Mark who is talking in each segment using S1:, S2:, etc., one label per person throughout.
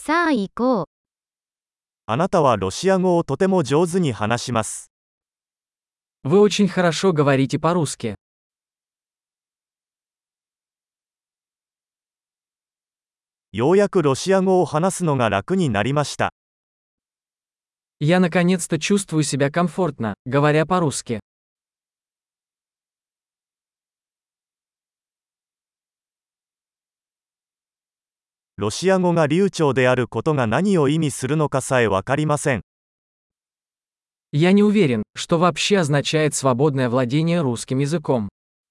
S1: さあ行こう。
S2: あなたはロシア語をとても上手に話します。
S3: Вы очень хорошо говорите по-русски.
S2: ようやくロシア語を話すのが楽になりました。
S3: Я наконец-то чувствую себя комфортно, говоря по-русски.
S2: ロシア語が流暢であることが何を意味するのかさえわかりません。
S3: Я не уверен, что вообще означает свободное владение русским языком.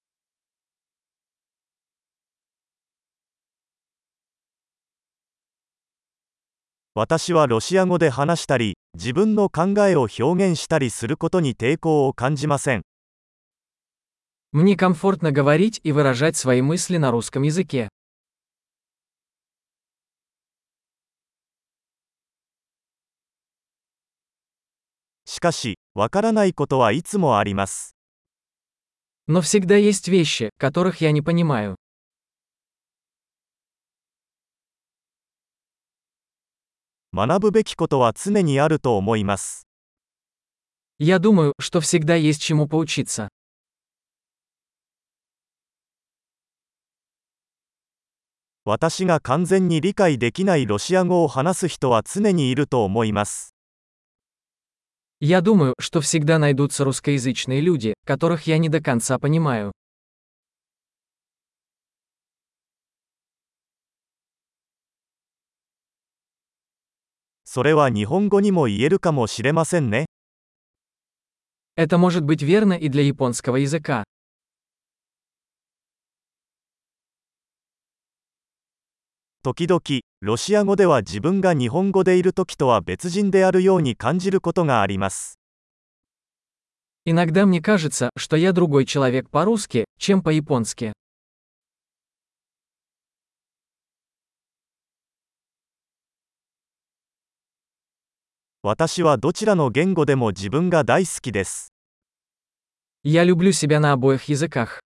S2: 私はロシア語で話したり、自分の考えを表現したりすることに抵抗を感じません。
S3: Мне комфортно говорить и выражать свои мысли на русском языке.
S2: しかし、わからないことはいつもあります。
S3: Но всегда есть вещи, которых я не понимаю.
S2: 学ぶべきことは常にあると思います。
S3: Я думаю, что всегда есть чему поучиться.
S2: 私が完全に理解できないロシア語を話す人は常にいると思います。
S3: Я думаю, что всегда найдутся русскоязычные люди, которых я не до конца понимаю.
S2: それは日本語にも言えるかもしれませんね。
S3: Это может быть верно и для японского языка.
S2: 時々、ロシア語では自分が日本語でいる時とは別人であるように感じることがあります。
S3: Иногда мне кажется, что я другой человек по-русски, чем по-японски.
S2: 私はどちらの言語でも自分が大好きです。
S3: Я люблю себя на обоих языках.